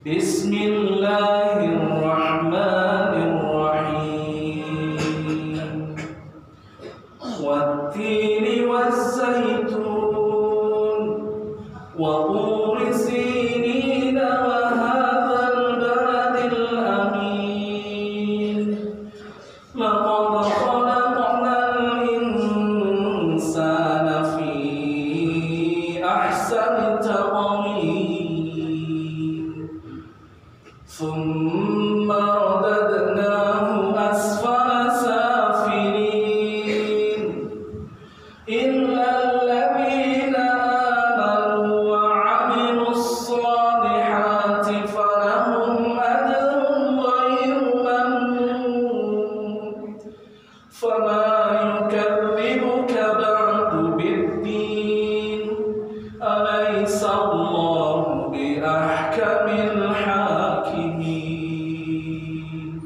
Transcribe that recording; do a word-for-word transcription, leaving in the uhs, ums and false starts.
بسم الله الرحمن الرحيم والتين والزيتون وطور سينين وهذا البلد الأمين لقد خلقنا الإنسان في أحسن تقويم ثم رددناه